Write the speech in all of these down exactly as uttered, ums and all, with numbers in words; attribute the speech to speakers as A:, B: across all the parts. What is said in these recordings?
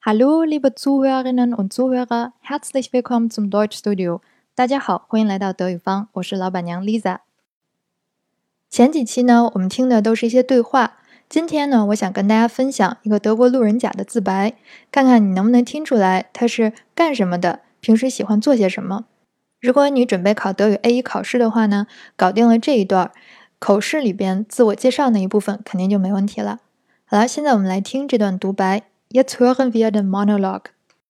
A: Hallo, liebe Zuhörerinnen und Zuhörer, herzlich willkommen zum Deutschstudio. 大家好，欢迎来到德语方，我是老板娘 Lisa。前几期呢，我们听的都是一些对话。今天呢，我想跟大家分享一个德国路人甲的自白，看看你能不能听出来他是干什么的，平时喜欢做些什么。如果你准备考德语 A 一 考试的话呢，搞定了这一段，口试里边自我介绍那一部分肯定就没问题了。好了，现在我们来听这段独白。Jetzt hören wir den Monolog.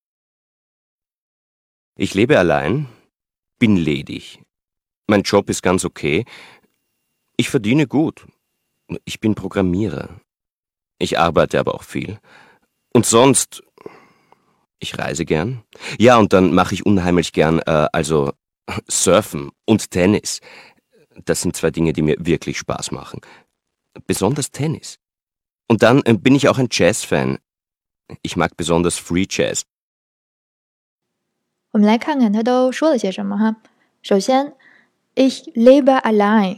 B: Ich lebe allein, bin ledig. Mein Job ist ganz okay. Ich verdiene gut. Ich bin Programmierer. Ich arbeite aber auch viel. Und sonst, ich reise gern. Ja, und dann mache ich unheimlich gern, äh, also Surfen und Tennis. Das sind zwei Dinge, die mir wirklich Spaß machen. Besonders Tennis. Und dann äh, bin ich auch ein Jazz-Fan.Ich mag besonders Free Jazz.
A: 我们来看看他都说了些什么哈。首先 Ich lebe allein.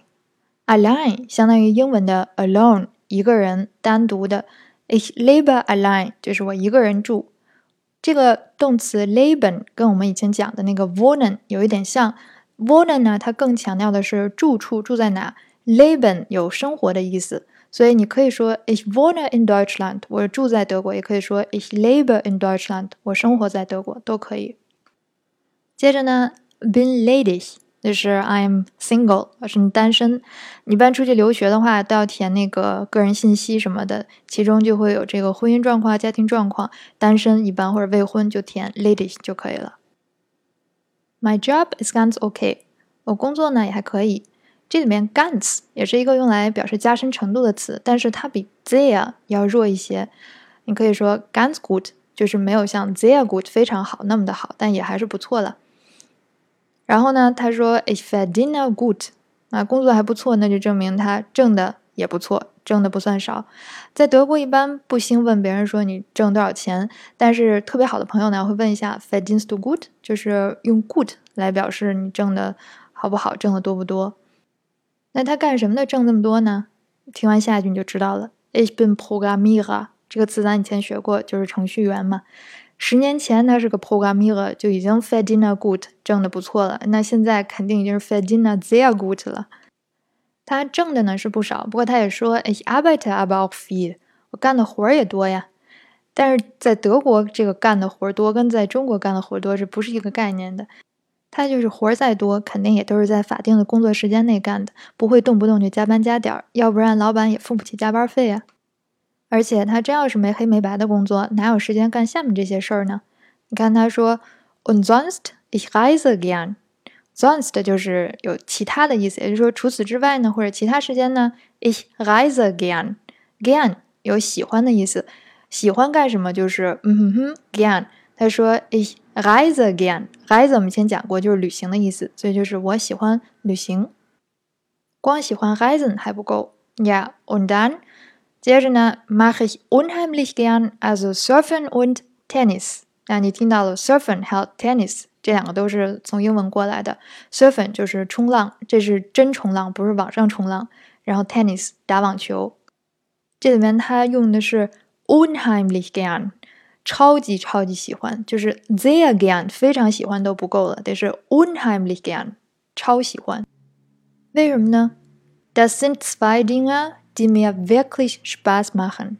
A: Allein 相当于英文的 alone 一个人单独的 Ich lebe allein 就是我一个人住。这个动词 leben 跟我们以前讲的那个 wohnen 有一点像。wohnen 呢，它更强调的是住处，住在哪。leben 有生活的意思。所以你可以说 Ich wohne in Deutschland， 我住在德国，也可以说 Ich lebe in Deutschland， 我生活在德国，都可以。接着呢 bin ledig， 就是 I'm single， 我是单身。你一般出去留学的话，都要填那个个人信息什么的，其中就会有这个婚姻状况、家庭状况，单身一般或者未婚就填 ledig 就可以了。My job is ganz okay， 我工作呢也还可以。这里面 ganz 也是一个用来表示加深程度的词，但是它比 sehr 要弱一些。你可以说 ganz gut， 就是没有像 sehr gut 非常好那么的好，但也还是不错了。然后呢，他说 Ich verdiene gut， 啊，工作还不错，那就证明他挣的也不错，挣的不算少。在德国一般不兴问别人说你挣多少钱，但是特别好的朋友呢会问一下 verdienst du gut， 就是用 good 来表示你挣的好不好，挣的多不多。那他干什么的挣这么多呢？听完下一句你就知道了。Ich bin Programmierer 这个词咱以前学过，就是程序员嘛。十年前他是个 Programmierer 就已经 verdiene gut 挣得不错了，那现在肯定已经是 verdiene sehr gut 了。他挣的呢是不少，不过他也说 Ich arbeite aber auch viel， 我干的活也多呀。但是在德国这个干的活多跟在中国干的活多是不是一个概念的？他就是活再多，肯定也都是在法定的工作时间内干的，不会动不动就加班加点，要不然老板也付不起加班费啊。而且他真要是没黑没白的工作，哪有时间干下面这些事儿呢？你看他说 Und sonst ich reise gern， sonst 就是有其他的意思，也就是说除此之外呢，或者其他时间呢 Ich reise gern， gern 有喜欢的意思，喜欢干什么就是嗯哼哼 gern。他说 Ich reise gern， reise 我们以前讲过就是旅行的意思，所以就是我喜欢旅行。光喜欢 reisen 还不够。Ja, und dann 接着呢 mache ich unheimlich gern also surfen und Tennis。 那你听到了 surfen 还有 tennis 这两个都是从英文过来的。 surfen 就是冲浪，这是真冲浪，不是网上冲浪。然后 tennis 打网球。这里面他用的是 unheimlich gern，超级超级喜欢，就是 sehr gern 非常喜欢都不够了，得是 unheimlich gern 超喜欢。为什么呢？ Das sind zwei Dinge, die mir wirklich Spaß machen。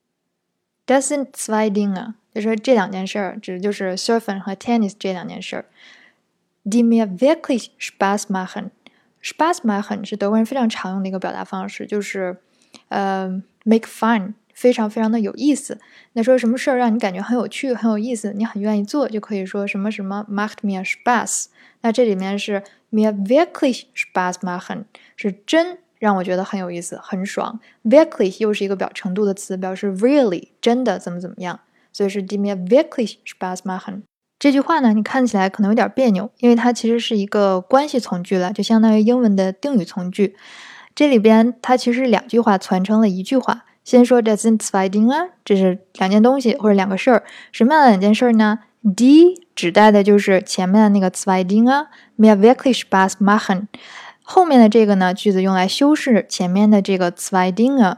A: Das sind zwei Dinge 就是这两件事儿，指的就是 surfen 和 tennis 这两件事儿。Die mir wirklich Spaß machen。 Spaß machen 是德国人非常常用的一个表达方式，就是呃 make fun，非常非常的有意思。那说什么事儿让你感觉很有趣很有意思，你很愿意做，就可以说什么什么 macht mir Spaß。 那这里面是 mir wirklich Spaß machen， 是真让我觉得很有意思很爽。 wirklich 又是一个表程度的词，表示 really 真的怎么怎么样，所以是 die mir wirklich Spaß machen。 这句话呢你看起来可能有点别扭，因为它其实是一个关系从句了，就相当于英文的定语从句。这里边它其实两句话传成了一句话。先说 das sind zwei Dinge， 这是两件东西或者两个事儿。什么样的两件事儿呢？ die 指代的就是前面的那个 zwei Dinge mir wirklich Spaß machen， 后面的这个呢句子用来修饰前面的这个 zwei Dinge，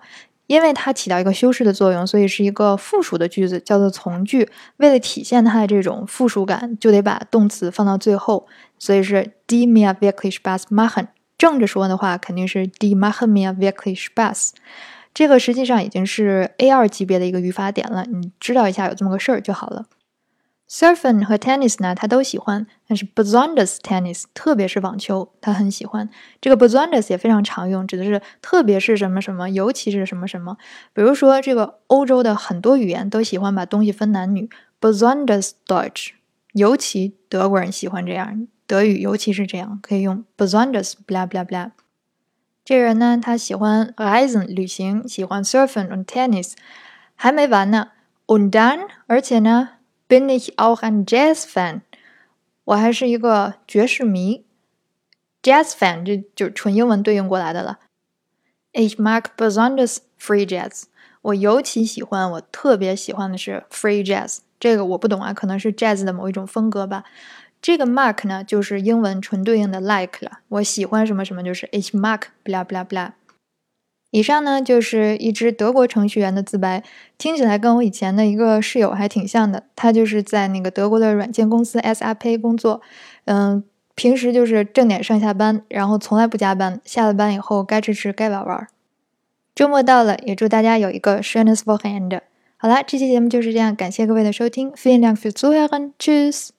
A: 因为它起到一个修饰的作用，所以是一个复数的句子，叫做从句。为了体现它的这种复数感，就得把动词放到最后，所以是 Die mir wirklich Spaß machen。正着说的话，肯定是 Die machen mir wirklich Spaß。这个实际上已经是 A 二 级别的一个语法点了，你知道一下有这么个事儿就好了。Surfen 和 Tennis 呢，他都喜欢，但是 besonders Tennis 特别是网球，他很喜欢。这个 besonders 也非常常用，指的是特别是什么什么，尤其是什么什么。比如说，这个欧洲的很多语言都喜欢把东西分男女 ，besonders Deutsch， 尤其德国人喜欢这样，德语尤其是这样，可以用 besonders blah blah blah。这人呢，他喜欢 reisen 旅行，喜欢 surfen und Tennis， 还没完呢 und dann， 而且呢。Bin ich auch ein Jazz-Fan？ 我还是一个爵士迷。Jazz-Fan 这就是纯英文对应过来的了。Ich mag besonders Free Jazz。我尤其喜欢，我特别喜欢的是 Free Jazz。这个我不懂啊，可能是 Jazz 的某一种风格吧。这个 mag 呢，就是英文纯对应的 like 了。我喜欢什么什么，就是 Ich mag blah blah blah。以上呢就是一只德国程序员的自白，听起来跟我以前的一个室友还挺像的。他就是在那个德国的软件公司 S A P 工作，嗯，平时就是正点上下班，然后从来不加班，下了班以后该吃吃该玩玩。周末到了，也祝大家有一个 schönes Wochenende。好啦，这期节目就是这样，感谢各位的收听 ，Vielen Dank fürs Zuhören，Tschüss。